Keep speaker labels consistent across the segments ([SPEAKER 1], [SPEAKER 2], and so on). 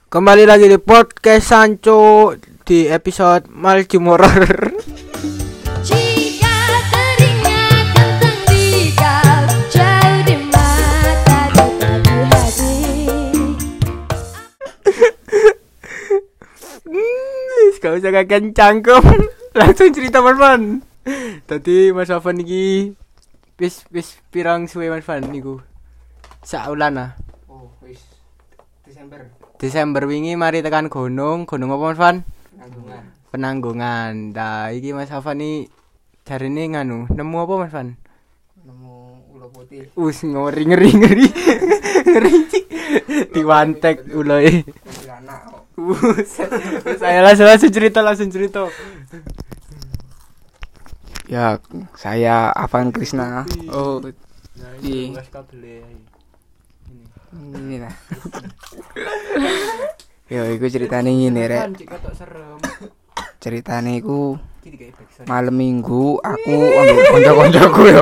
[SPEAKER 1] Kembali lagi di podcast Sancho di episode Maljum Horror.
[SPEAKER 2] Jika teringat tentang dikau jauh di mata tetapi hati.
[SPEAKER 1] Gak usah kakek cangkem. Langsung cerita Mas Van. Tadi Mas Van iki wis pirang suwe Mas Van niku. Saulan ah.
[SPEAKER 3] Oh, wis
[SPEAKER 1] Desember wingi mari tekan gunung apa Mas Van?
[SPEAKER 3] Penanggungan.
[SPEAKER 1] Penanggungan. Nah, iki Mas Van iki jarine nganu, nemu apa Mas Van?
[SPEAKER 3] Nemu ulo putih.
[SPEAKER 1] Ngeri. Ngeri cik. Diwantek uloe.
[SPEAKER 3] Anak kok.
[SPEAKER 1] Saya langsung cerita.
[SPEAKER 3] Ya, saya Avan Krisna. Oh,
[SPEAKER 1] Iya.
[SPEAKER 3] ini lah. Yo, iku ceritane ngene rek. Ceritane iku malam Minggu aku ambek kanca-kancaku yo.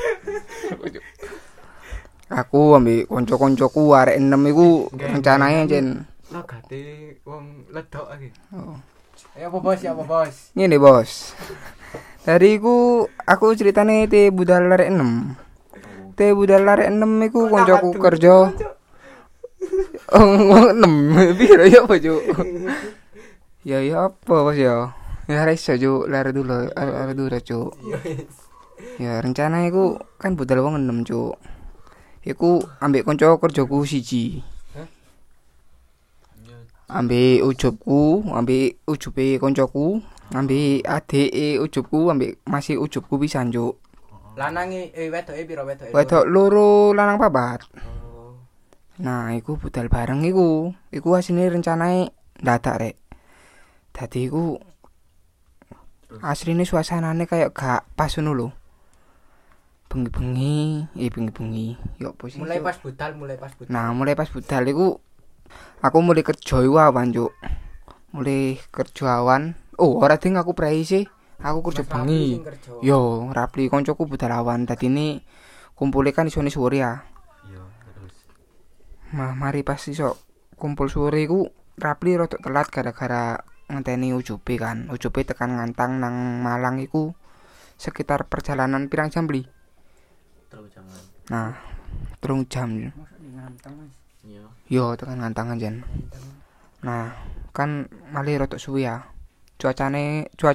[SPEAKER 3] Aku ambek kanca-kancaku arek 6 iku rencanane jen.
[SPEAKER 1] Logate wong ledok iki.
[SPEAKER 3] Oh.
[SPEAKER 1] Ya apa bos?
[SPEAKER 3] Ngene, Bos. Dari iku aku ceritane te budal arek 6. Te budal arek 6 iku kancaku kerja. Oh, 6. Piro ya, Pak, Cuk? Ya apa, Bos ya? Ya iso, Cuk. Lare dulu, Cuk. Ya rencana iku kan budal wong 6, Cuk. Iku ambek kanca kerjaku siji. Ambek ujubku, ambek ujube kancaku, ambek adeke ujubku, ambek masih ujubku pisan, Cuk.
[SPEAKER 1] Lanange wedoke piro wedoke?
[SPEAKER 3] Wedok loro lanang papat. Nah, iku budal bareng iku. Iku asline rencanae ndadak rek. Dadi iku asline suasanane kayak gak pas ngono lho. Bengi-bengi. Yo posisi.
[SPEAKER 1] Mulai pas budal.
[SPEAKER 3] Nah, mulai pas budal iku aku mulai kerja iku awan, Cuk. Mulai kerja awan. Oh, ora ding aku prei sih. Aku kerja bengi. Yo, Rapli koncoku budal awan. Dadine kumpule kan isone sore ya.
[SPEAKER 4] Iya, terus.
[SPEAKER 3] Mari pas iso kumpul sore iku Rapli rada telat gara-gara ngenteni ujube kan. Ujube tekan ngantang nang Malang iku sekitar perjalanan pirang jam beli.
[SPEAKER 4] Terus jangan.
[SPEAKER 3] Nah, 3 jam.
[SPEAKER 4] Iya.
[SPEAKER 3] Yo, tekan ngantangan jan. Nah, kan malih rada suwe ya. Cuacane ku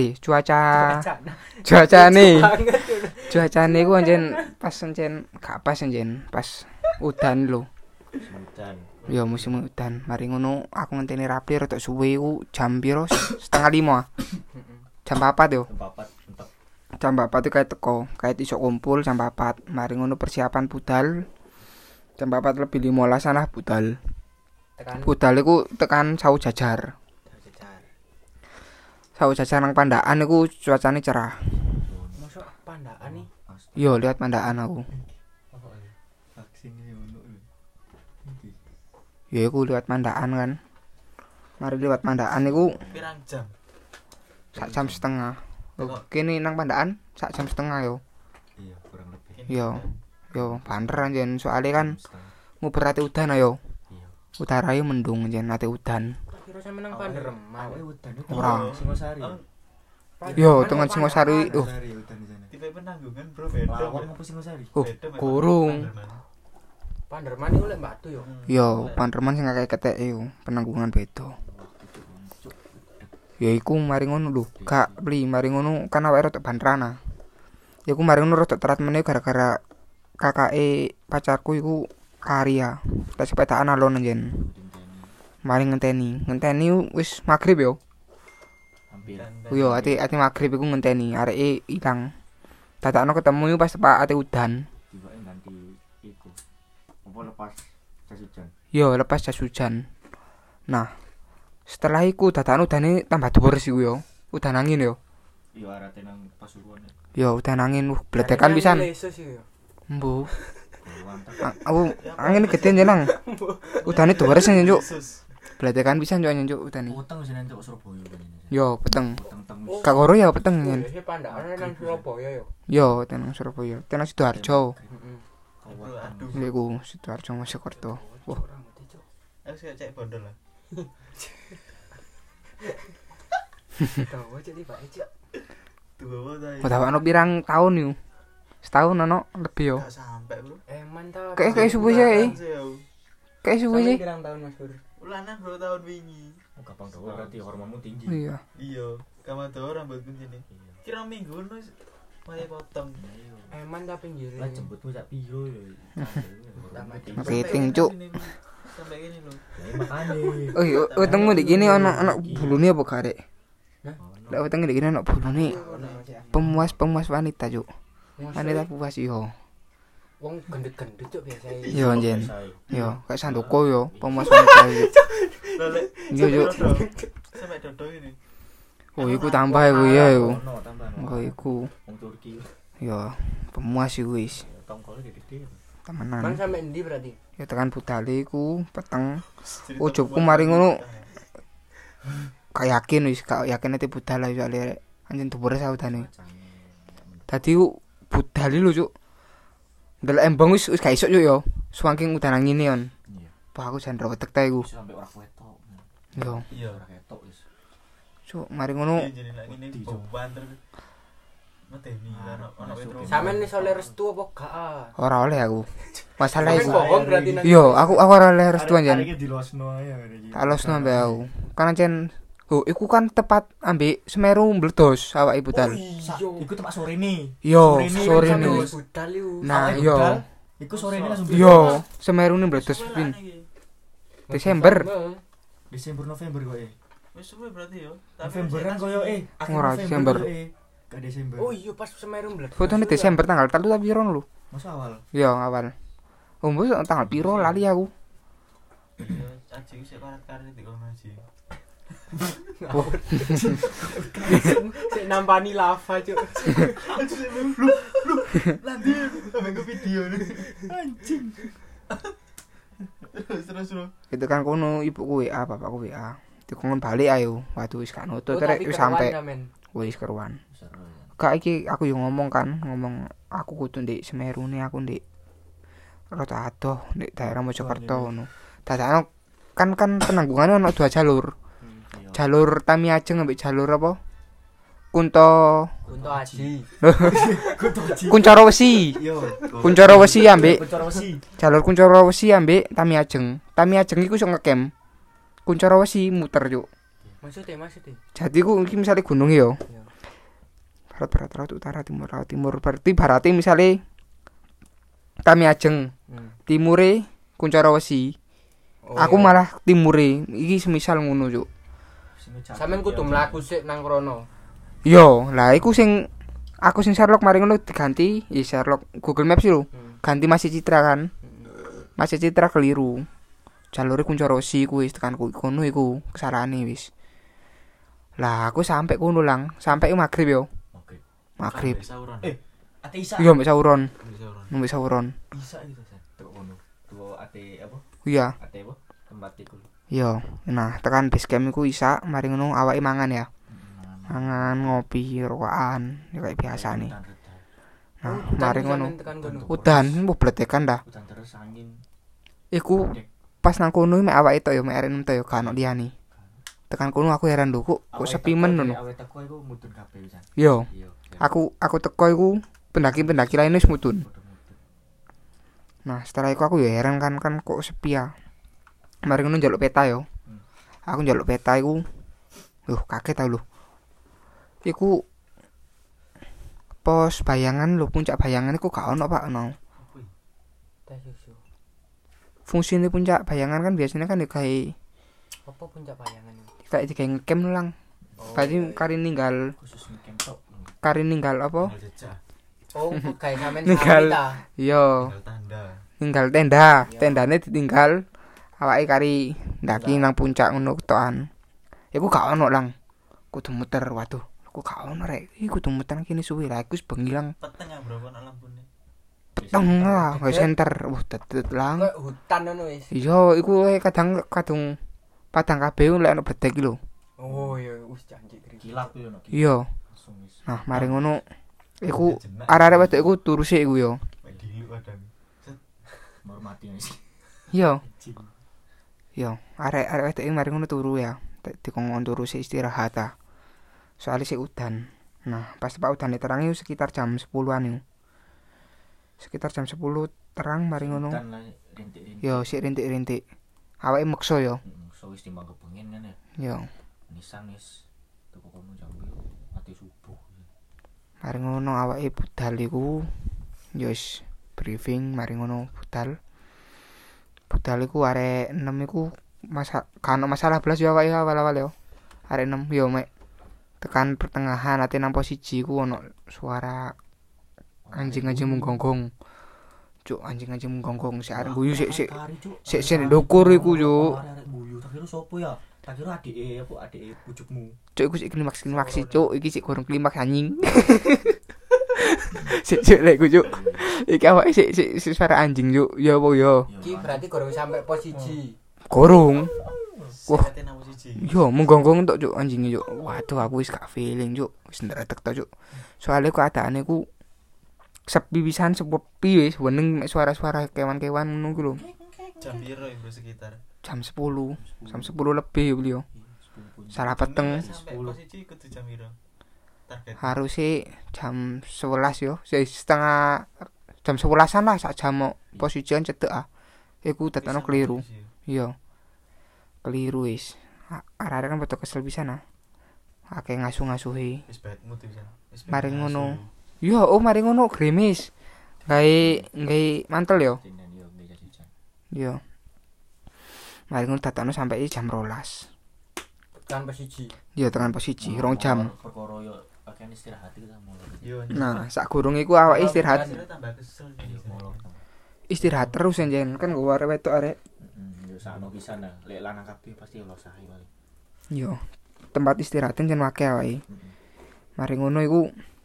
[SPEAKER 3] anjen pas gak pas anjen pas udan lho.
[SPEAKER 4] Hujan.
[SPEAKER 3] Ya musim udan. Mari ngono aku ngenteni Rapli rada suwe ku jam piro? 4:30. Jam 4 yo.
[SPEAKER 4] Tempat entek.
[SPEAKER 3] Jam 4 itu kayak teko, kayak iso kumpul jam 4. Mari ngono persiapan budal. Jam 4 lebih 15 lah budal. Budal iku tekan Sawu Jajar. Sawu Jajar nang Pandaan iku cuacane cerah.
[SPEAKER 1] Masuk Pandaan nih.
[SPEAKER 3] Yo lihat Pandaan aku.
[SPEAKER 4] Vaksin iki ono.
[SPEAKER 3] Ya iku lihat Pandaan kan. Mari lihat Pandaan iku
[SPEAKER 4] Pirang jam?
[SPEAKER 3] sak jam setengah. Oh, kene nang Pandaan sak jam setengah yo.
[SPEAKER 4] Iya, kurang lebih.
[SPEAKER 3] Yo banter anjen soalnya kan mau berarti udan ayo.
[SPEAKER 4] Iya.
[SPEAKER 3] Utara yo mendung anjen ate udan.
[SPEAKER 1] Kira sampe nang Panderem.
[SPEAKER 4] Udan itu.
[SPEAKER 3] Ora.
[SPEAKER 4] Singosari.
[SPEAKER 3] Yo tengen Singosari.
[SPEAKER 4] Singosari udan di sana. Tipe Penanggungan, Bro, beda. Lawang apa Singosari?
[SPEAKER 3] Oh, kurung.
[SPEAKER 1] Panderman iku lek Batu yo.
[SPEAKER 3] Yo Panderman sing akeh keteke yo, Penanggungan beda. Ya iku mari ngono lho, gak beli mari ngono kan awake rada bantrana. Ya iku mari ngono rada terat meneh gara-gara kakake pacarku iku karya. Tak sepedaan alon anjen. Mari ngenteni wis magrib yo.
[SPEAKER 4] Hampiran.
[SPEAKER 3] Yo ati magrib iku ngenteni areke ilang. Dadakno ketemu pas Pak ate udan.
[SPEAKER 4] Tiba ganti iku. Apa lepas jas hujan?
[SPEAKER 3] Yo lepas jas hujan. Nah, setelah iku dadakno udane tambah dhuwur sih yo. Udan angin yo.
[SPEAKER 4] Iya, arate nang Pasuruan.
[SPEAKER 3] Yo udan angin bledekan pisan. Mbuh. Aku angin gede njenang. Udane dhuwur sing njuk. Bledekan pisan njuk njuk udane.
[SPEAKER 4] Utang sing nang Surabaya kan ini.
[SPEAKER 3] Yo peteng.
[SPEAKER 4] Utang
[SPEAKER 3] Gak karo ya peteng nyen.
[SPEAKER 1] Iki Pandaan nang Surabaya yo.
[SPEAKER 3] Yo tenang Surabaya. Tenang Sidoarjo.
[SPEAKER 4] Aduh.
[SPEAKER 3] Iku Sidoarjo Mojokerto. Wah,
[SPEAKER 4] Harus cek bondol lah.
[SPEAKER 1] Tahu aja di Pak Ecik.
[SPEAKER 4] Tuwa ta.
[SPEAKER 3] Udah ono pirang tahun yo. Setahun ono lebih yo.
[SPEAKER 4] Gak sampai, Bro.
[SPEAKER 1] Mantap.
[SPEAKER 3] Kayak subuh sih. Kayak subuh sih.
[SPEAKER 1] Pirang tahun Mas Pur?
[SPEAKER 4] Ulanan 2 tahun wingi.
[SPEAKER 5] Oh, gampang dawa berarti hormonmu tinggi.
[SPEAKER 3] Iya.
[SPEAKER 4] Iya, kamu tuh rambutku sini. Kira minggu wis mulai potong.
[SPEAKER 1] Mantap pinggir.
[SPEAKER 5] Lah jemputmu sak piro ya.
[SPEAKER 3] Rating, Cuk.
[SPEAKER 4] Sampai gini lho.
[SPEAKER 5] Lah makane.
[SPEAKER 3] Oh iya, wetengmu di gini ono bulune apa gak, Rek?
[SPEAKER 1] Hah?
[SPEAKER 3] Lah wetenge di gini ono bulune. Pemuas wanita, Cuk. Wanita puas yo.
[SPEAKER 1] Wong gendut-gendut cuk biasa.
[SPEAKER 3] Yo anjen. Yo, kayak Sandoko yo, pemuas wanita yo.
[SPEAKER 4] Lek.
[SPEAKER 3] Iya, Cuk.
[SPEAKER 4] Sampai dodo ini.
[SPEAKER 3] Oh, iku tambah iku ya yo.
[SPEAKER 5] Ono tambah.
[SPEAKER 3] Engko iku.
[SPEAKER 5] Wong Turki.
[SPEAKER 3] Yo, pemuas iku wis.
[SPEAKER 5] Tongkole gede.
[SPEAKER 1] Bang
[SPEAKER 3] Temenan.
[SPEAKER 1] sampe endi berarti?
[SPEAKER 3] Ya tekan budale iku peteng. Ujubku mari ngono. Kayak yakin wis, gak yakin ati budal ae soalé anjen dhuwure saudane. Dadi budal lho, Cuk. Ndelok embong wis gak iso Cuk yo. Saking udan ngene on.
[SPEAKER 5] Iya.
[SPEAKER 3] Wah aku jan rawet tek iku.
[SPEAKER 5] Sampai ora ketok.
[SPEAKER 3] Yo,
[SPEAKER 4] Iya.
[SPEAKER 5] Ora ketok wis.
[SPEAKER 3] Cuk, mari ngono.
[SPEAKER 4] Jadi lek ngene beban terus. Mateni ono wetro.
[SPEAKER 1] Sampeyan iso le restu apa gak?
[SPEAKER 3] Ora oleh aku. Masalah
[SPEAKER 1] Sampeyan
[SPEAKER 3] iku.
[SPEAKER 1] bohong berarti nang.
[SPEAKER 3] Yo, aku ora oleh restu anjen.
[SPEAKER 5] Iki dilosno ae iki.
[SPEAKER 3] Tak losno ambek aku. Kan ancen iku kan tepat ambek Semeru meledos awake budal.
[SPEAKER 5] Iku tepak sore ini.
[SPEAKER 3] Yo,
[SPEAKER 5] Sore
[SPEAKER 3] sore
[SPEAKER 5] ini
[SPEAKER 3] ini.
[SPEAKER 5] kan
[SPEAKER 1] budal iku.
[SPEAKER 3] Nah,
[SPEAKER 5] Awake
[SPEAKER 3] yo.
[SPEAKER 5] budal, iku sore ini langsung.
[SPEAKER 3] Yo, Semeru ini meledos pin. Desember.
[SPEAKER 5] Desember November kowe.
[SPEAKER 4] Wis suwe berarti yo.
[SPEAKER 5] November kan koyo akhir
[SPEAKER 3] Ora,
[SPEAKER 5] November
[SPEAKER 3] Desember.
[SPEAKER 5] koyo, Gak Desember.
[SPEAKER 1] Oh iya pas Semeru meledos.
[SPEAKER 3] Fotone Desember tanggal 3 tapi piro lho.
[SPEAKER 5] Masa awal.
[SPEAKER 3] Yo, awal. Mbok tanggal piro lali aku.
[SPEAKER 4] Iya, aji sik karet-karet di kono aji.
[SPEAKER 1] Sik nampani lava cuk.
[SPEAKER 4] Lanjut sampe ke video nih. Anjing. Terus.
[SPEAKER 3] Itu kan kono ibuku WA, bapakku WA. Dikongkon balik ayo. Waduh wis gak nutut rek wis sampe. Wis keruan. Kak iki aku yo ngomong aku kudu ndek Semeru ne aku ndek rada adoh ndek daerah Mojokerto ngono. Dadakno kan penanggungannya ono 2 jalur. Jalur Tami Ajeng ambek jalur apa? Kunto
[SPEAKER 1] Aji.
[SPEAKER 3] Kuncoro Wesi.
[SPEAKER 5] Yo.
[SPEAKER 3] Kuncoro Wesi ambek
[SPEAKER 5] Kuncoro Wesi.
[SPEAKER 3] jalur Kuncoro Wesi ambek Tami Ajeng. Tami Ajeng iku iso ngecamp. Kuncoro Wesi muter yuk.
[SPEAKER 1] Maksudnya.
[SPEAKER 3] Jadi ku iki misale gunung yo.
[SPEAKER 1] Iya.
[SPEAKER 3] Barat utara timur berarti barate misale Tami Ajeng. Timure Kuncoro Wesi. Aku malah timure. Iki semisal ngono yuk.
[SPEAKER 1] Sampeyan kudu mlaku sik nang krono.
[SPEAKER 3] Yo, lah iku aku sing Sherlock mari ngono diganti ya Sherlock Google Maps lho. Ganti Masih Citra kan. Masih Citra keliru. Jalure Kuncoro Wesi kuwi tekan kono iku kesalahan wis. Lah aku sampai kono lang, sampai maghrib yo. Maghrib.
[SPEAKER 5] Ate Isa.
[SPEAKER 3] Iya mbek sauron. Mbek sauron.
[SPEAKER 5] Bisa gitu San. Teko kono. Tuwa ate apa?
[SPEAKER 3] Iya.
[SPEAKER 5] Ate apa? Tempat iku.
[SPEAKER 3] Yo. Nah, tekan base camp iku isa mari ngono awake mangan ya. Mangan, ngopi, rokokan, ya kayak biasa nih. Nah, mari ngono. Udan, mbok bletekan dah.
[SPEAKER 5] Udan terus angin.
[SPEAKER 3] Iku pas nang kono mek awake tok yo mek arek tok yo kan liyane. Tekan kono aku heran lho kok sepi men ngono.
[SPEAKER 5] Awake teko iku mudun kabeh pisan.
[SPEAKER 3] Yo.
[SPEAKER 5] Iya.
[SPEAKER 3] Aku teko iku pendaki-pendaki lain wis mudun. Nah, setelah itu aku ya heran kan kok sepi ya. Mari ngono njaluk peta yo. Aku njaluk peta iku. Kaget tau lho. Iku pos bayangan lho, puncak bayangan iku gak ono Pak ono. Fungsine puncak bayangan kan biasanya kan kayak
[SPEAKER 1] apa puncak bayangan itu?
[SPEAKER 3] Kayak digawe ngecamp lang. Berarti kari ninggal
[SPEAKER 5] Khusus ngecamp tok.
[SPEAKER 3] kari ninggal apa?
[SPEAKER 1] Oh, kayak sampean
[SPEAKER 3] Ninggal.
[SPEAKER 1] ta.
[SPEAKER 3] Yo,
[SPEAKER 4] Tanda.
[SPEAKER 3] ninggal tenda. Tendane ditinggal awake kari ndaki nang puncak ngono ketokan. Iku gak ono lang. Kudu muter, waduh. Aku gak ono rek. Iku kudu muter kene suwe lah. Iku wis bengi lang.
[SPEAKER 4] Peteng ya bro kan lampune.
[SPEAKER 3] Peteng lah, gak center. Tetet lang.
[SPEAKER 1] Kayak hutan ngono wis.
[SPEAKER 3] Iya, iku kadang padang kabeh lek ono bedek iki lho.
[SPEAKER 1] Oh iya, wis janji
[SPEAKER 5] Kilap yo nek.
[SPEAKER 3] Iya.
[SPEAKER 5] Langsung wis.
[SPEAKER 3] Nah, mari ngono iku arek-arek wedok iku turuse iku yo.
[SPEAKER 4] Mek dilu kadang.
[SPEAKER 5] Menghormati wis.
[SPEAKER 3] Iya. Yo, arek wedok mari ngono turu ya. Dikongkon turu sik istirahat ta. Soalnya sik udan. Nah, pas tepak udan terangi sekitar jam 10-an yo. Sekitar jam 10 terang mari ngono.
[SPEAKER 5] Dan lah rintik-rintik.
[SPEAKER 3] Yo, sik rintik-rintik. Awake meksa yo.
[SPEAKER 5] So wis timbang kepengen kan ya.
[SPEAKER 3] Yo,
[SPEAKER 5] Nisan wis teko kono jam 2 mati subuh.
[SPEAKER 3] mari ngono awake budal iku yo wis briefing mari ngono budal. Budal iku arek 6 iku kan masalah belas yo awake awal-awal yo. Arek 6 yo mek tekan pertengahan ate nang posisi ku ono suara anjing-anjing menggonggong. Cuk, anjing-anjing menggonggong si arek guyu sik ndukur iku yo.
[SPEAKER 5] Arek guyu tak kira sopo ya? Tak kira adike pucukmu.
[SPEAKER 3] Cuk iku sik klimaks cuk, iki sik gorong klimaks anjing. Sik lek cuk. Iki awake sik suara anjing cuk. Ya apa ya?
[SPEAKER 1] Iki berarti gorong sampai posisi.
[SPEAKER 3] Gorong. Wah.
[SPEAKER 4] Sate nang siji.
[SPEAKER 3] Yo menggonggong tok cuk anjingnya cuk. Waduh aku wis gak feeling cuk. Wis ndretek tok cuk. Soale keadaane ku sepi pisan sepi wis weneng mek suara-suara kewan-kewan ngono ku lho.
[SPEAKER 4] Jam piro bro sekitar?
[SPEAKER 3] Jam 10. Jam 10 lebih beliau. Salah peteng.
[SPEAKER 4] Sampai posisi kudu jam piro? Target.
[SPEAKER 3] Harusnya jam 11 yo. Setengah jam 11-an lah sak jam mau posisian cedek ah. Iku dadane keliru. Iya. Keliru wis. Arek kan betul kesel pisan ah. Akeh ngasuh-ngasuhi.
[SPEAKER 4] Wis bad mood pisan.
[SPEAKER 3] Mari ngono. Yo, mari ngono grimis. Gawe mantel yo.
[SPEAKER 5] Sinan yo meja jajan.
[SPEAKER 3] Yo. Mari ngono datane sampai jam 12.
[SPEAKER 1] Kan posisi.
[SPEAKER 3] Yo tekan posisi 2 jam.
[SPEAKER 5] Perkara yo pakaian istirahat iki ta mulai.
[SPEAKER 4] Yo.
[SPEAKER 3] Nah, sak gurung iku awake istirahat.
[SPEAKER 4] Tambah kesel.
[SPEAKER 5] Yo molor.
[SPEAKER 3] Istirahat terus anjen kan gua arek wedok arek.
[SPEAKER 5] Yo sakno pisan lah. Lek lanang kabeh pasti lo sahi paling.
[SPEAKER 3] Yo. Tempat istirahat jan akeh awake. Mari ngono iku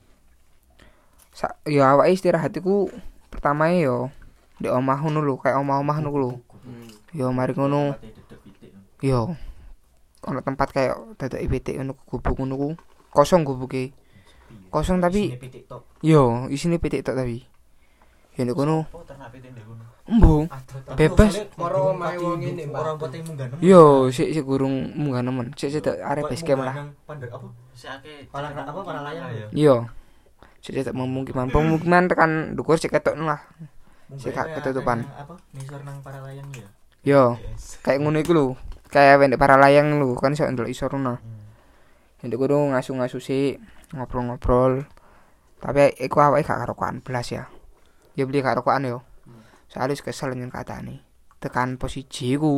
[SPEAKER 3] yo awake istirahat iku pertama yo di omah ngono lho, kayak omah-omah ngono lho. Yo mari ngono. Yo. Ono tempat kayak dadak pitik ngono gubuk ngono ku. Kosong gubuke. Kosong tapi yo isine pitik tok tapi. Ya nek kono
[SPEAKER 4] Oh, ternak pitik ndek kono.
[SPEAKER 3] embung bebas.
[SPEAKER 1] Moro mae wong ngene, Mbak.
[SPEAKER 5] Orang pote munggah nemen.
[SPEAKER 3] Yo sik gurung munggah nemen. Sik arep base camp lah.
[SPEAKER 5] Pandek apa?
[SPEAKER 4] Sik akeh
[SPEAKER 5] Para layang ya.
[SPEAKER 3] Yo. Sik pemukiman tekan ndukur sik ketok lah. Sik gak ketutupan.
[SPEAKER 5] Apa? Nisor nang para layang ya.
[SPEAKER 3] Yo, kayak ngono iku lho. Kayak wendek para layang lho, kan iso ndelok isor ngono. Ndek kono ngasu-ngasu sik, ngobrol-ngobrol. Tapi iku awake gak karokokan blas ya. Ya beli karokokan yo. Soale kesel nyen katane. Tekan posisi iku.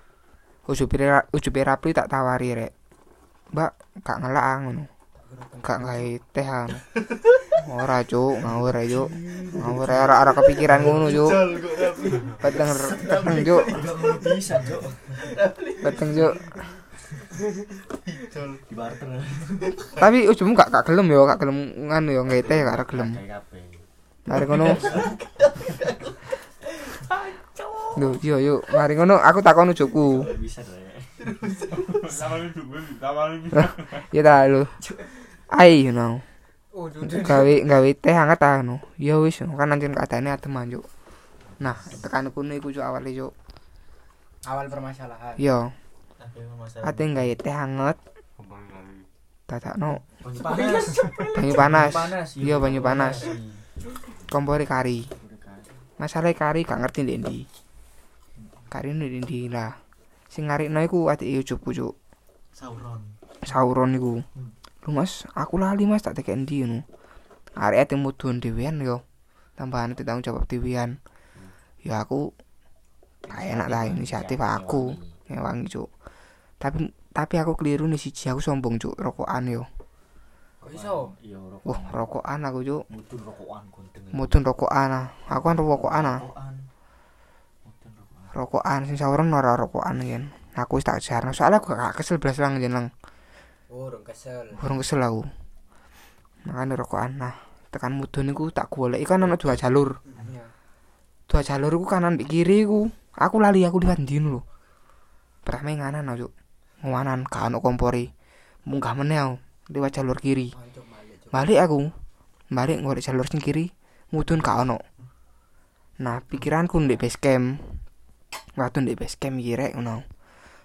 [SPEAKER 3] Ujube rapi tak tawari rek. Mbak, gak ngelak ngono. Gak gawe teh ngono. Ora cuk, ngawur ae cuk. Ngawur ora kepikiran ngono cuk. Peteng cuk.
[SPEAKER 5] Bisa, Cuk.
[SPEAKER 3] Peteng cuk.
[SPEAKER 5] Di barter.
[SPEAKER 3] Tapi ujungmu gak gelem yo, gak gelem nganu yo gawe teh gak gelem.
[SPEAKER 5] Kayak kabeh.
[SPEAKER 3] Mari ngono. Lho, yo, mari ngono aku takon ujugku.
[SPEAKER 5] Bisa rek.
[SPEAKER 3] Ya ta lho. Ai you know.
[SPEAKER 1] Oh,
[SPEAKER 3] Gawe teh hangat ta ngono. Ya wis kan anjen kadane adem anjuk. Nah, tekan kono iku cuk awale cuk.
[SPEAKER 1] awal permasalahan.
[SPEAKER 3] Yo,
[SPEAKER 4] Akeh masalah.
[SPEAKER 3] ate gawe teh hangat. Dadakno
[SPEAKER 5] Panas.
[SPEAKER 3] banyu panas. Iya banyu panas. Kompore kari. Masalah kari gak ngerti ndek ndi. Kari ndek ndi lah. Sing ngarikno iku atike ujugku cuk. Sauron iku. Lu Mas, aku lali Mas tak tekek ndi ngono. Arek ate mudhun dhewean yo. Tambahan tanggung jawab dhewean. Ya aku gak enak lah inisiatif aku. Ngewangi cuk. Tapi aku keliru nih siji aku sombong cuk, rokokan yo.
[SPEAKER 1] Kok iso?
[SPEAKER 5] Iya, rokok.
[SPEAKER 3] Wah, rokokan aku cuk.
[SPEAKER 5] Mudun rokokan gondeng.
[SPEAKER 3] Mudun rokokan ah. Aku kan rokokan ah.
[SPEAKER 5] Mudun rokokan.
[SPEAKER 3] Rokokan sing sauron ora rokokan yen. Aku wis tak jarno soalnya aku gak kesel blas lang jeneng.
[SPEAKER 1] Urung kesel.
[SPEAKER 3] Urung kesel aku. Makane rokokan. Nah, tekan mudun iku tak goleki kan ana 2 jalur.
[SPEAKER 1] Iya.
[SPEAKER 3] 2 jalur iku kanan mbek kiri iku. Aku lali aku liwat ndi lho. Pertama nganan cuk. Nganan gak ono kompori. Munggah meneh aku liwat jalur kiri.
[SPEAKER 1] Pancuk balik, Cuk.
[SPEAKER 3] Balik aku. Balik ngorek jalur sing kiri. Mudun gak ono. Nah, pikiranku ndek base camp. Waktu ndek base camp iki rek ngono.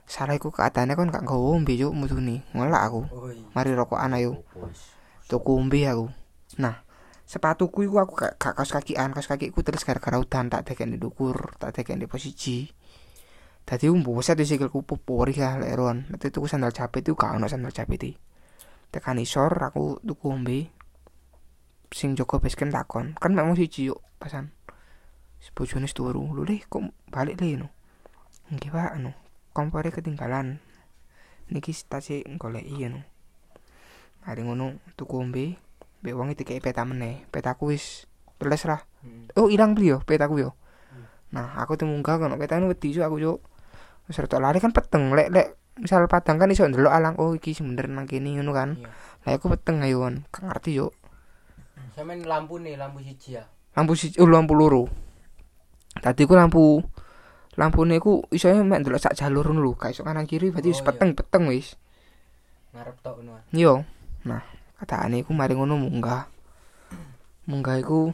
[SPEAKER 3] Salah iku keadaannya kan gak nggawa ombe cuk mudune. Ngelak aku.
[SPEAKER 1] Oh iya.
[SPEAKER 3] Mari rokokan ayo.
[SPEAKER 5] Bos.
[SPEAKER 3] Tuku ombe aku. Nah, sepatuku iku aku gak kaos kakian, kaos kakiku terus gara-gara udan tak dekek di dukur, tak dekek di posisi. Dadi buset di sikilku popori lah lek ron. Dadi tuku sandal jepit itu gak ono sandal jepit. Tekan isor aku tuku ombe. Sing jaga basecamp takon, kan mek mung siji yuk pasan. Bojone turu. Lho Le, kok balik Le no. Nggih Pak, anu. Kompore ketinggalan. Niki stasi goleki ngono. Mari ngono tuku ombe, mbek wong iki dikeki peta meneh. Petaku wis teles lah. Oh, ilang beli yo petaku yo. Nah, aku tuh munggah kono petane wedi yo aku yo. Wis rada lari kan peteng lek misal padang kan iso ndelok alang oh iki sebener nang kene ngono kan.
[SPEAKER 1] Iya.
[SPEAKER 3] Lah aku peteng ayo kan. Gak ngerti yo.
[SPEAKER 1] Sampeyan lampu siji ya.
[SPEAKER 3] Lampu siji lampu loro. Tadi ku lampune ku iso mek ndelok sak jalur ngono lho, gak iso kanan kiri berarti wis
[SPEAKER 1] Oh, iya.
[SPEAKER 3] peteng wis.
[SPEAKER 1] Ngarep tok ngono.
[SPEAKER 3] Yo. Nah, kataane iku mari ngono munggah. Munggah iku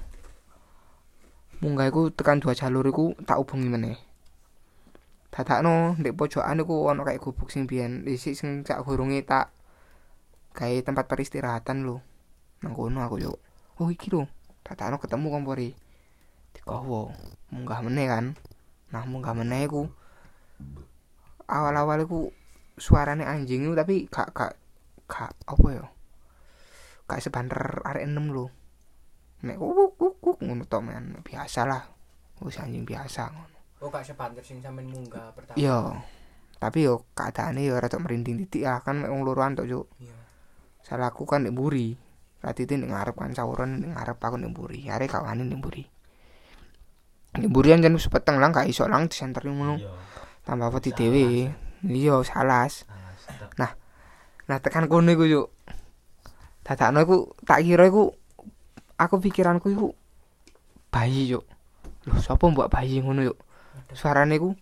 [SPEAKER 3] tekan 2 jalur iku tak hubungi meneh. Dadakno ndek pojokan iku ana kayak gubuk sing biyen dhisik sing sak gurunge tak gawe tempat peristirahatan lho. Nang kono aku yo. Oh iki lho. Dadakno ketemu kompore. Dikowo. Munggah meneh kan. Nah, munggah meneh iku awal-awal iku suarane anjing itu tapi gak apa ya? Gak sebanter arek 6 lho. Nek kuk ngono tok men, biasalah. Wis anjing biasa ngono.
[SPEAKER 1] Oh gak sebanter sing sampeyan munggah pertama.
[SPEAKER 3] Iya. Tapi yo keadaane yo rada merinding titik ya kan mek wong loroan tok juk.
[SPEAKER 1] Iya.
[SPEAKER 3] Salahku kan nek mburi. Radite nek ngarep kan sawuran nek ngarep aku nek mburi. Arek gak wani nek mburi. Nek mburi jan wis peteng lang gak iso lang disenteri ngono.
[SPEAKER 4] Iya.
[SPEAKER 3] Tambah wedi dhewe. Iya salas.
[SPEAKER 4] Nah,
[SPEAKER 3] Nah tekan kono iku juk. Dadakno iku tak kira iku aku pikiranku iku bayi juk. Lho sapa mbok bayi ngono juk. Suarane iku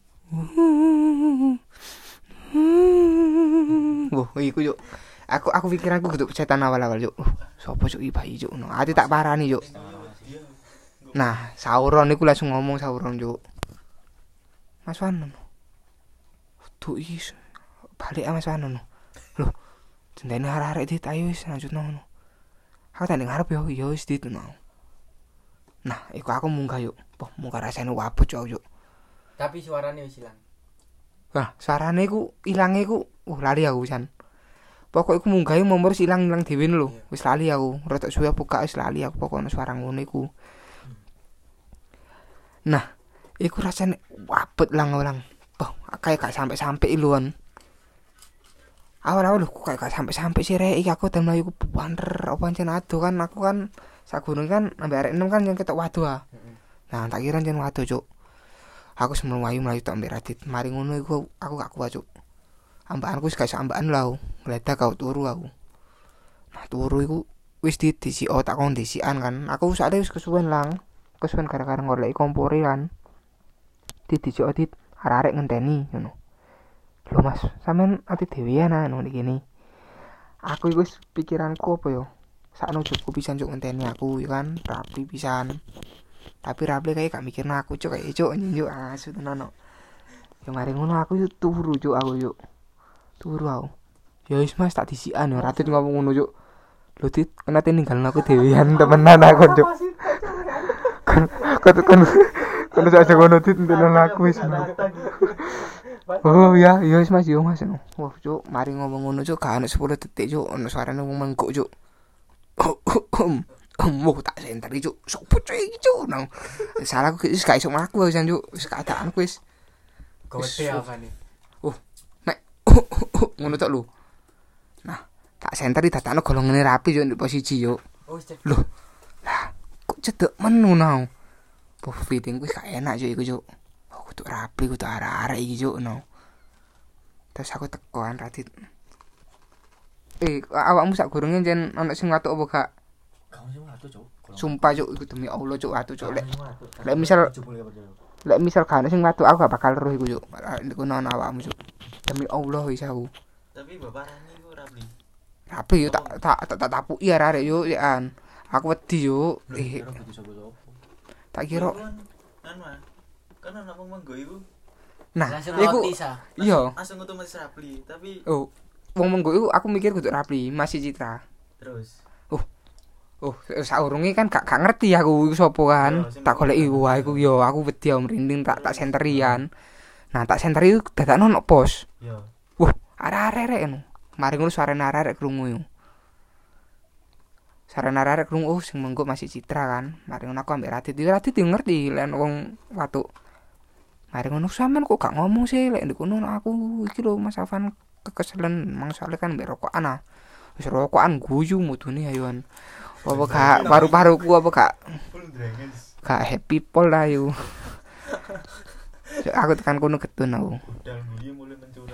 [SPEAKER 3] wah iku juk. Aku pikiranku geduk setan awal-awal juk. Sapa juk iki bayi juk. No, ati tak parani juk. Nah, Sauron iku langsung ngomong Sauron juk. Mas Wan. Tuh is balik Mas Wan. Loh, jendene arek-arek dit ayo wis lanjutno ngono. Aku tak ning ngarep yo wis dit no. Nah, iku aku munggah yuk. Poh, munggah rasane wabut yo.
[SPEAKER 1] Tapi suarane wis ilang.
[SPEAKER 3] Wah, suarane iku ilange iku lali aku jan. Pokok iku munggah momor ilang dhewe lho. Wis lali aku. Rada suwe buka wis lali aku pokoknya suara ngono iku. Nah, iku rasane wabut lang. Poh, kayak gak sampai lho kan. Awal-awal kok kayak gak sampai sih rek iki aku ten mlayu ku banter apa pancen ado kan aku kan sak gunung kan ambek arek 6 kan yang ketok wadu ah. Nah, tak kira jen wadu cuk. Aku semelu mlayu tok ambek Radit. Mari ngono iku aku gak kuat cuk. Ambakanku wis gak iso ambakan lho. Ngledak kau turu aku. Nah, turu iku wis disi tak kondisian kan. Aku sakjane wis kesuwen lang. Kesuwen gara-gara ngoleki kompore kan. Disi dit arek-arek ngenteni ngono. Lho Mas, sampean ati dhewean anu iki. Aku iku wis pikiranku apa yo? Sakno cukup pisan cuk ngenteni aku ya kan, rapi pisan. Tapi rapi kayak gak mikirno aku cuk kayak cuk njuk asu tenan no. Ya mari ngono aku yo turu cuk aku yo. Turu aku. Ya wis Mas tak disikan yo Radit ngomong ngono cuk. Lho Dit, kenate ninggalno aku dhewean temenan aku cuk. Kan sak ngono Dit tenan aku wis. Oh ya, iya wis Mas, yo Mas. Wah, cuk, mari ngomong ngono cuk, gak ono 10 detik cuk, ono suarane wong mengguk cuk. Tak senteri cuk. Sopo cuk iki cuk. Nang. Salahku wis gak iso mlaku wis cuk, wis keadaanku wis.
[SPEAKER 1] Gede apa nih?
[SPEAKER 3] Nek ngono tok lho. Nah, tak senteri dadakno golongane rapi cuk ndek posisi cuk.
[SPEAKER 1] Oh, cek.
[SPEAKER 3] Lho. Lah, kok cedek menu nang. Po feeding wis gak enak cuk iku cuk. Kudu rapi kudu arek-arek iki cuk no. Terus aku tekoan Radit. Awakmu sak gurunge jen ana sing watuk apa gak?
[SPEAKER 5] Kamu sing watu, Cuk.
[SPEAKER 3] Sumpah cuk iku demi Allah cuk watuk cuk lek misal gak ana sing watuk aku gak bakal roh iku cuk. Iku ana awakmu cuk. Demi Allah wis aku.
[SPEAKER 4] tapi bapak Rani ku rapi.
[SPEAKER 3] Rapi yo tak tapuki arek yo an. Aku wedi yo. Tak kira
[SPEAKER 4] Kan ana wong menggo iku
[SPEAKER 3] Nah,
[SPEAKER 1] Langsung
[SPEAKER 3] iku
[SPEAKER 1] roti sa.
[SPEAKER 3] iya.
[SPEAKER 4] Langsung otomatis Rapli, tapi
[SPEAKER 3] Oh, wong mengko iku aku mikir kudu Rapli, masih Citra.
[SPEAKER 4] terus
[SPEAKER 3] Saurunge kan gak ngerti aku iku sapa kan.
[SPEAKER 4] Yo, sing
[SPEAKER 3] Tak goleki
[SPEAKER 4] penting
[SPEAKER 3] wah
[SPEAKER 4] kan.
[SPEAKER 3] iku yo aku wedi merinding tak senteri kan. Nah, tak senteri iku dadakno ono pos.
[SPEAKER 4] yo
[SPEAKER 3] Wah, arek-arek ngono. Mari ngono suarane arek krungu yo. Suarane arek krungu sing mengko masih Citra kan. Mari ngono aku ambek Radit. Radit yo ngerti lek wong watuk. Mari ngono sampean kok gak ngomong sih lek ndikono aku iki lho Mas Afan kekeselen mangsale kan mbek rokokan ah. Wis rokokan guyu mudune ayoan. Apa gak paru-paruku apa gak
[SPEAKER 4] full dragons
[SPEAKER 3] gak happy pol lah yo. Aku tekan kono ketun aku.
[SPEAKER 4] budal mburi mulai mencurang.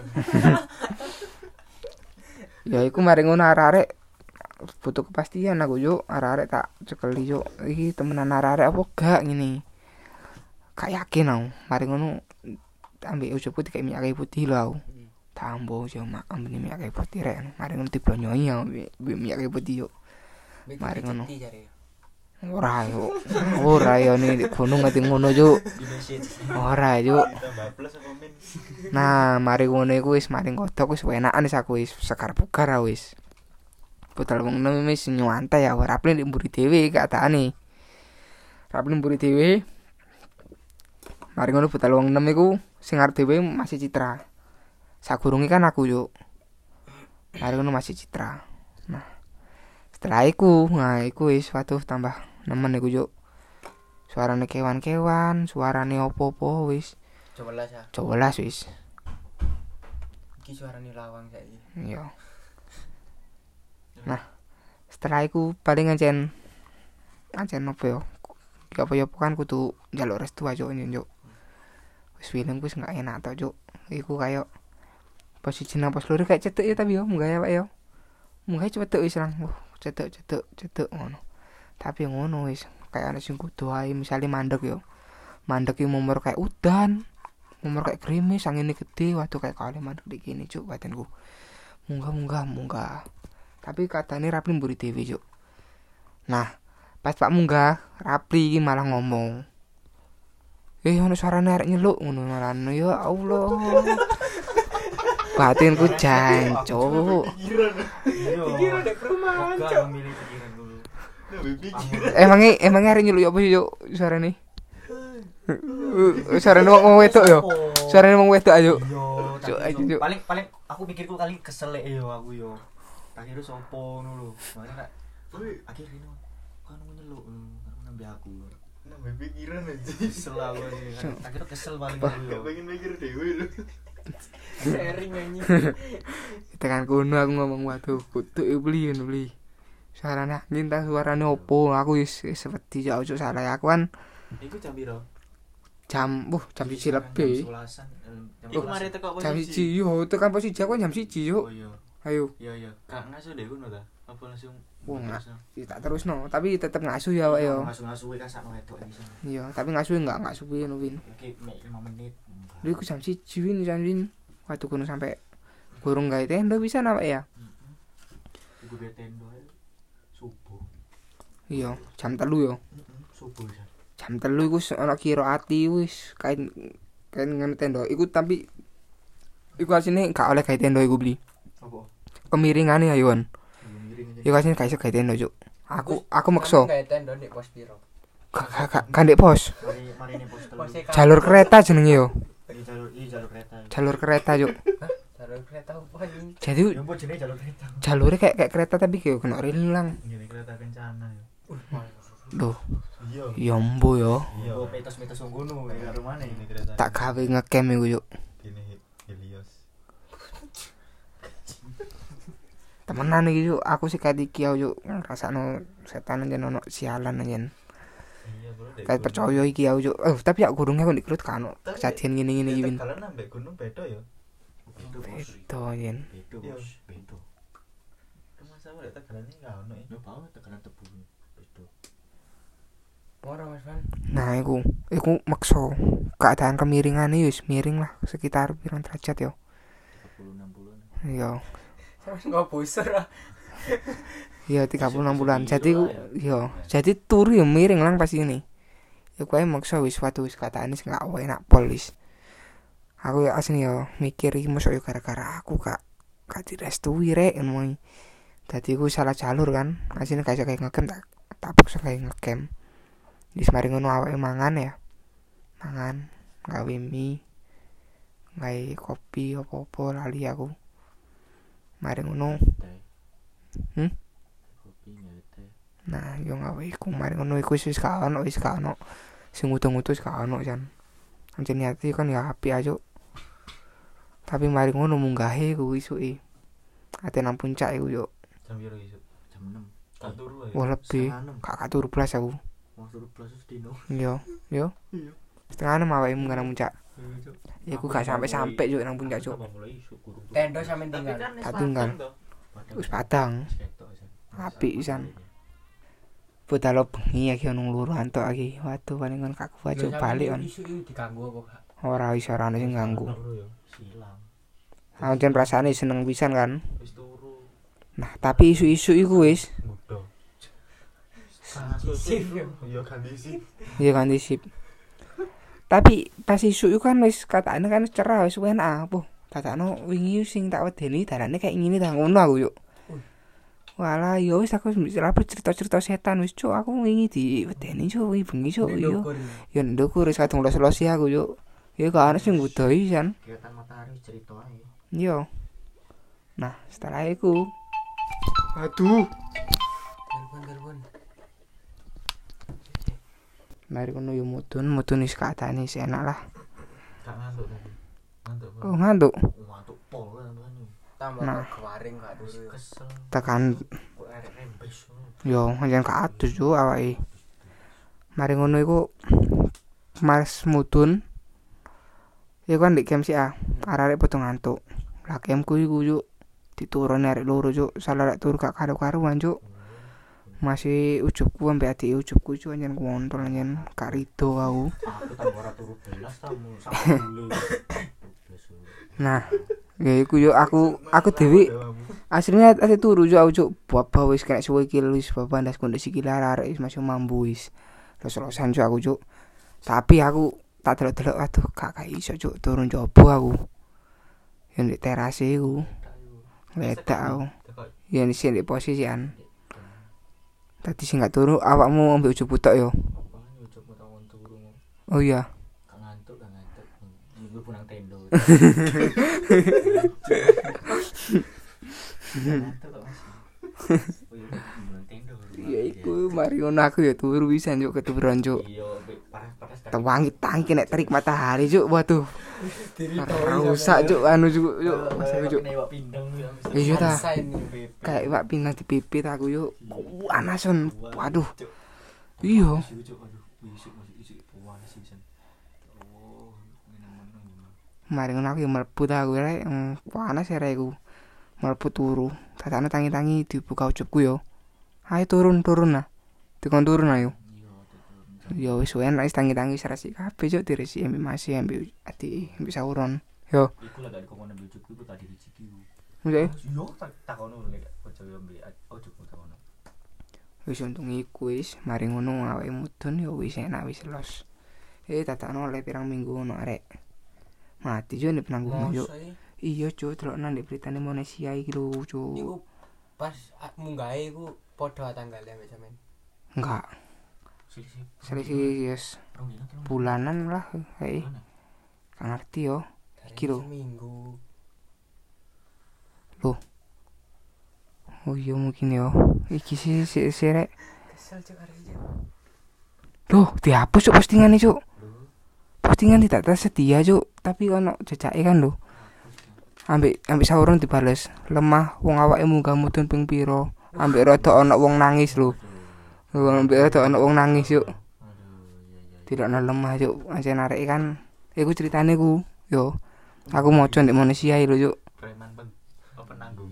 [SPEAKER 3] Ya iku mari ngono arek-arek butuh kepastian aku yo arek-arek tak cekeli yo iki temenan arek-arek apa gak ngene. Gak yakin aku. Mari ngono ambek ujugku dikek minyak kayu putih lho aku. Tambo yo mak ambene minyak kayu putih rek. Mari ngono diblonyoi ya minyak kayu putih yo. Mari ngono. Ora yo nih di gunung ngerti ngono yo.
[SPEAKER 5] Di message.
[SPEAKER 3] Ora yo.
[SPEAKER 4] Tambah plus apa min?
[SPEAKER 3] Nah, mari ngono iku wis mari ngodok wis enakan wis aku wis sekar bugar wis. Budal wong nem wis nyantai ya ora Rapli mburi dhewe keadaane. Rapli mburi dhewe. Mari ngono budal wong nem iku sing arep dhewe masih Citra. Sagurunge kan aku yo. Mari ngono masih Citra. Nah, setelah iku, nah iku wis waduh tambah nemen iku yo. Suarane kewan-kewan, suarane opo-opo wis.
[SPEAKER 1] 12 ya.
[SPEAKER 3] 12 wis.
[SPEAKER 1] Iki suarane lawang saiki.
[SPEAKER 3] Iya. Nah, setelah iku paling ancen opo yo? Ya apa kan kudu njaluk restu aja yo. Wis film wis gak enak to, Cuk. Iku kayak posisi nang pos loro kayak cetek ya tapi yo munggah ya Pak yo. Munggah cepet wis lang. Cetek ngono. Tapi ngono wis kayak ana sing kudu ae misale mandek yo. Mandek iki momor kayak udan. Momor kayak gerimis, angin gede, waduh kayak kali mandek di kene, Cuk, batinku. Munggah. Tapi katanya Rapli mburi dhewe, Cuk. Nah, pas Pak munggah, Rapli iki malah ngomong. Ono suarane arek nyeluk ngono marane ya Allah. Batinku jancuk.
[SPEAKER 1] Pikiran dek perumahan,
[SPEAKER 5] Moga
[SPEAKER 1] Cok.
[SPEAKER 5] memilih pikiran dulu.
[SPEAKER 4] Lebih pikir.
[SPEAKER 3] Emangnya arek nyeluk ya apa yo suarane? Suarane wong wedok yo. Suarane wong wedok ayo.
[SPEAKER 5] Yo,
[SPEAKER 3] Cuk,
[SPEAKER 5] tak
[SPEAKER 3] ayo,
[SPEAKER 5] kira-
[SPEAKER 3] Cuk.
[SPEAKER 5] paling aku pikirku kali kesel yo aku yo. Tak kira sopo ngono lho. Makanya kak akhirnya ini kan nyeluk karo nambah aku.
[SPEAKER 4] Nambah pikiran aja.
[SPEAKER 5] Kesel aku ini. Tak kira kesel paling aku yo.
[SPEAKER 4] Gak pengen mikir dewe lu.
[SPEAKER 1] Sharing anjing.
[SPEAKER 3] Tekan kono aku ngomong waduh kudu beli. Suarane angin ta suarane opo? Aku wis wedi ya ojo salah aku kan
[SPEAKER 5] Iku jam piro?
[SPEAKER 3] jam 1 lebih.
[SPEAKER 5] Jam 11-an.
[SPEAKER 4] Iku mari teko
[SPEAKER 3] Jam
[SPEAKER 4] posisi.
[SPEAKER 3] 1 yo tekan posisi aku jam 1 yo.
[SPEAKER 5] Oh iya.
[SPEAKER 3] Ayo.
[SPEAKER 5] Iya. Kak ngasuh deh ngono ta? Apa langsung
[SPEAKER 3] Wah,
[SPEAKER 5] terusno?
[SPEAKER 3] tak terusno, tapi tetep ngasuh ya, Pak yo.
[SPEAKER 5] Ngasuh-ngasuh kan sakno wedok iki.
[SPEAKER 3] Iya, tapi ngasuh enggak suwi no Win.
[SPEAKER 5] Oke, mek 5 menit.
[SPEAKER 3] Lha iku jam 1 Win. Waktu kono sampai gurung gawe tenda bisa apa ya?
[SPEAKER 5] Iku be tendo subuh.
[SPEAKER 3] Iya, jam 3 yo.
[SPEAKER 5] Subuh ya.
[SPEAKER 3] Jam 3 iku ana kira ati wis kain ngene tenda. Iku tapi iku asine gak oleh gawe tenda iku beli.
[SPEAKER 5] Apa?
[SPEAKER 3] Kemiringane ayoan.
[SPEAKER 5] Miring aja.
[SPEAKER 3] Iku asine gak iso gawe tenda, Cuk. Aku maksa.
[SPEAKER 1] Kayak tenda di pos piro.
[SPEAKER 3] Gak ndek pos.
[SPEAKER 5] Mari ini pos telu.
[SPEAKER 1] Posnya
[SPEAKER 3] Jalur kereta jenenge yo.
[SPEAKER 5] Jalur kereta.
[SPEAKER 3] Jalur kereta, Cuk.
[SPEAKER 1] jalur kereta apa anjing?
[SPEAKER 3] Jadi
[SPEAKER 5] Ya mbok jenenge jalur kereta.
[SPEAKER 3] jalurnya kayak kereta tapi kayak kena rel lang.
[SPEAKER 4] Gini kereta kencana ya.
[SPEAKER 3] Loh,
[SPEAKER 4] Iya.
[SPEAKER 3] ya mbo yo.
[SPEAKER 4] Iya.
[SPEAKER 5] Oh, mitos-mitos ngono ya karo mana
[SPEAKER 4] Ini
[SPEAKER 5] ini?
[SPEAKER 4] kereta.
[SPEAKER 3] Tak gawe ngecamp iku, Cuk.
[SPEAKER 4] Gini Helios.
[SPEAKER 3] Temenan iki, Cuk. Aku sih kayak iki yo, Cuk. Ngrasakno setan aja ono sialan aja.
[SPEAKER 4] Iya, bro.
[SPEAKER 3] Kayak percaya iki yo, Cuk. Tapi ya gurunge kok dikrut kan ono kejadian ngene-ngene iki, Win.
[SPEAKER 4] Kalian nambah gunung beda ya.
[SPEAKER 5] Beto bos.
[SPEAKER 3] Itu yen.
[SPEAKER 5] Beto bos. Beto.
[SPEAKER 4] Rumah sama lek tegalan ini enggak ono ya.
[SPEAKER 5] Yo banget tekanan tebu. Beto.
[SPEAKER 1] Ora Mas Van.
[SPEAKER 3] Nah, iku maksa. Keadaan kemiringane wis miring lah sekitar pirang derajat yo.
[SPEAKER 5] 30-60.
[SPEAKER 3] Iya.
[SPEAKER 1] Enggak bosor ah.
[SPEAKER 3] Iya 36 bulan. Jadi iya, jadi turu yo miring lang pas ini. Ya kowe maksa wis suatu wis katane sing gak enak pol wis. Aku ya asli yo mikir iki mosok yo gara-gara aku gak direstui rek ngono. Dadi ku salah jalur kan. Asline gak iso kayak ngegame tak paksa kayak ngegame. Wis mari ngono awake mangan ya. Mangan gawe mie. Gawe kopi opo-opo lali aku. Mari ngono.
[SPEAKER 5] Kopi ngete.
[SPEAKER 3] Nah, yo gawe iku mari ngono iku wis gak ono sing utuh-utuh gak ono jan. Anjen niati kan ya api aja. Tapi mari ngono munggahe ku isuke. Ate nang puncak iku yo.
[SPEAKER 5] Jam piro isuk? Jam 6. Tak turu ae.
[SPEAKER 3] Wah lebih. Gak turu blas aku.
[SPEAKER 5] Mau turu plus dino.
[SPEAKER 3] Yo.
[SPEAKER 5] Iya.
[SPEAKER 3] Setengah 6 awake munggah nang puncak. Ya aku gak sampai yo nang puncak cuk.
[SPEAKER 1] Tendo sampe tinggal.
[SPEAKER 3] Tak tinggal. Wis padang. Apik pisan. Budal bengi iki ono loro antuk iki. Waduh paling kon gak kuat cuk balik kon.
[SPEAKER 1] Isu iki diganggu apa gak?
[SPEAKER 3] Ora iso ora ono sing ganggu.
[SPEAKER 5] Silang.
[SPEAKER 3] Anjen perasaane seneng pisan kan.
[SPEAKER 5] Wis turu.
[SPEAKER 3] Nah, tapi isu-isu iku wis
[SPEAKER 5] Mudo.
[SPEAKER 1] Sip yo.
[SPEAKER 5] Iya ganti sip.
[SPEAKER 3] ya kan disip. Tapi pas isu iku kan wis katane kan cerah wis enak apa. Dadakno wingi sing tak wedeni darane kayak ngene ta ngono aku yuk. Walah yo wis aku cerita-cerita setan wis cuk aku wingi diwedeni cuk wingi bengi cuk yo. Yo ndukur wis kadung los-losi aku yuk. Ya gak ana sing ngudoi san.
[SPEAKER 5] Kegiatan matahari cerita ae.
[SPEAKER 3] Yo. Nah, setelah itu aduh,
[SPEAKER 1] Telepon.
[SPEAKER 3] mari kono yo mudun wis keadaane wis enak lah.
[SPEAKER 5] Gak ngantuk tadi. Ngantuk.
[SPEAKER 3] Oh, ngantuk.
[SPEAKER 5] Ngantuk pol kan.
[SPEAKER 1] Tambah
[SPEAKER 3] Nah.
[SPEAKER 1] kewaring gak turu.
[SPEAKER 5] Kesel.
[SPEAKER 3] Tekan
[SPEAKER 5] Kok arek rembes.
[SPEAKER 3] yo anjen kados yo awake. Mari ngono iku Mas mudun. Iku kan di camp sih arek padha ngantuk. Lah campku iku yo diturun arek loro yo salah rek turu gak karo-karuan yo. Masih ujubku ambek adik ujubku yo anjen kontrol anjen gak rido aku.
[SPEAKER 5] Aku tambah ora turu belas tamu sak dulu.
[SPEAKER 3] Nah, ya iku yo aku dhewe aslinya ate turu yo aku yo baba wis kena suwe iki wis baba ndas kondisi iki arek wis masih mambu wis. Los-losan yo aku yo. Tapi aku tak delok-delok aduh gak iso cuk turun coba aku. Yang di teras iku. Ledak aku. Ya di sini posisian. Tadi sing gak turu awakmu ambek ujub tok yo.
[SPEAKER 5] Apa coba tawon turu.
[SPEAKER 3] Oh iya.
[SPEAKER 5] Gak ngantuk. Minggu punang tendo. Ngantuk kok Mas. Oh iya, punang tendo.
[SPEAKER 3] Ya iku mari ngono aku ya turu pisan yo keturunan cuk.
[SPEAKER 5] Iya, panas kan.
[SPEAKER 3] Tewangi tangki nek terik matahari cuk. Waduh. Rusak cuk anu cuk yuk. Masalah cuk.
[SPEAKER 5] Newak pindang.
[SPEAKER 3] Iya ta.
[SPEAKER 1] Rasain
[SPEAKER 3] Kayak wak pindah di pipit aku yuk. Panasan. Waduh. Iya. Mari ngono aku yo mlebu ta aku rek panas ya rek aku. Mlebu turu. Dadane tangi-tangi dibuka ujubku yo. Ayo turun lah. Dikon turun ayo. Yo wis enak wis tangi-tangi serasi kabeh cuk diresi ambek masih ambek ati ambek sauron. Yo.
[SPEAKER 5] Iku lah gak dikon ambek ujubku iku tadi rezeki ku.
[SPEAKER 3] Oke.
[SPEAKER 5] Yo takono lek ojo ambek ujubku takono.
[SPEAKER 3] Wis untung iku wis mari ngono awake mudun yo wis enak wis los. Dadakno oleh pirang minggu ono arek. Mati yo nek penanggung yo. Iya cuk delok nang beritane Indonesia iki lho cuk.
[SPEAKER 1] Iku pas munggahe iku padha tanggal ambek sampean.
[SPEAKER 3] Enggak.
[SPEAKER 5] Sisi.
[SPEAKER 3] Selisih yes bulanan lah kayak gak ngerti yo. Iki lho.
[SPEAKER 1] Seminggu.
[SPEAKER 3] Oh iya mungkin yo. Iki sih rek.
[SPEAKER 1] Kesel cuk arek iki.
[SPEAKER 3] Loh, dihapus cuk postingane cuk. Postingan tidak tersedia cuk, tapi ono jejake kan lho. Ambek sauron dibales. Lemah wong awake munggah mudun ping pira. Ambek rada ono wong nangis lho. Ambek rada ono wong nangis yuk. Tidak ono lemah cuk. Ancen arek kan iku ceritane ku. Yo. Aku moco ndek manusia lho cuk.
[SPEAKER 5] Preman penanggung.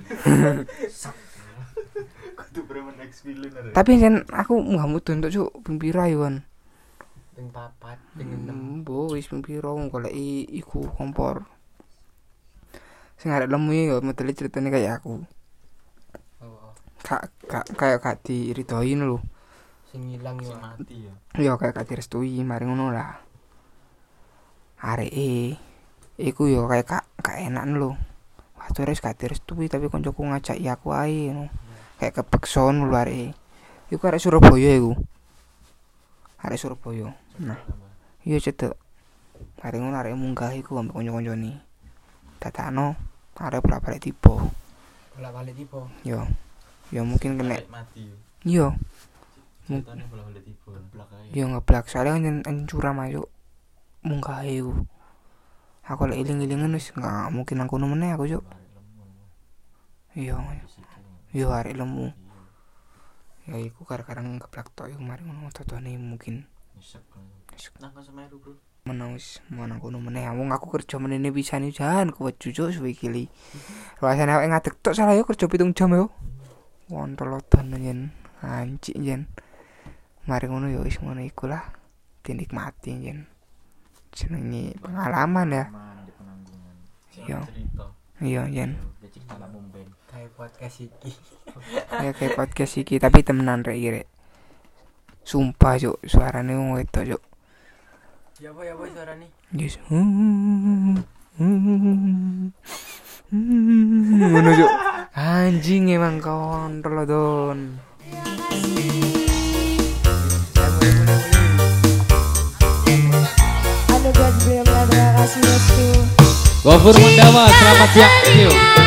[SPEAKER 5] Kudu preman ex-villain arek.
[SPEAKER 3] Tapi ancen aku munggah mudun tok cuk ping pira yo kan.
[SPEAKER 1] Ping 4, ping 6.
[SPEAKER 3] Mbok wis ping pira wong goleki iku kompor. Sing arek lemu yo modele ceritane kayak aku.
[SPEAKER 1] Oh.
[SPEAKER 3] Kayak gak diridoin lho.
[SPEAKER 1] Sing ilang yo.
[SPEAKER 5] Sing mati ya.
[SPEAKER 3] Yo kayak gak direstui mari ngono lah. Areke iku yo kayak gak enak lho. Wah, terus gak direstui tapi koncoku ngajak ya aku ae ngono. Kayak kepeksa lho arek. Iku arek Surabaya iku. Arek Surabaya. Nah, iya cedek. Mari ngono arek munggah iku ambek kanca-kancane. Datakno arek bolak-balik tiba.
[SPEAKER 1] Bolak-balik tipe.
[SPEAKER 3] Yo. Ya mungkin kena.
[SPEAKER 4] Arek mati yo.
[SPEAKER 3] Yo.
[SPEAKER 4] Ceritane bola-bola tiba.
[SPEAKER 5] Belakang
[SPEAKER 3] Yo ngeblak soalnya kan curam ayo munggah iku. Aku lek iling-ilingan wis gak mungkin nang kono meneh aku yo. Iya. Yo arek lemu. Ya iku gara-gara ngeblak tok iku mari ngono totone mungkin
[SPEAKER 5] nyesek. Nang Semeru, Bro.
[SPEAKER 3] menang wis menang kono meneh. Wong aku kerja menene pisan iki jan kuwat jujuk suwe iki. Rasane awake ngadeg tok salah yo kerja 7 jam yo. Wontolotan yen anjing yen. Mari ngono yo wis ngono iku lah. Dinikmati yen. Jenenge pengalaman ya.
[SPEAKER 5] Di penanggungan.
[SPEAKER 3] Iya.
[SPEAKER 4] Cerita.
[SPEAKER 3] Iya yen.
[SPEAKER 5] Ya cerita lah mumben.
[SPEAKER 1] Kayak podcast iki.
[SPEAKER 3] Ya kayak podcast iki tapi temenan rek iki rek. Sumpah juk suarane wong wedok juk.
[SPEAKER 1] Ya apa suara nih?
[SPEAKER 3] Yes. Ngono juk. Anjing emang kontrol don.
[SPEAKER 2] Anugerah beliau terima kasih Yesus.
[SPEAKER 6] Gofur Mundawa, selamat siang. Yuk.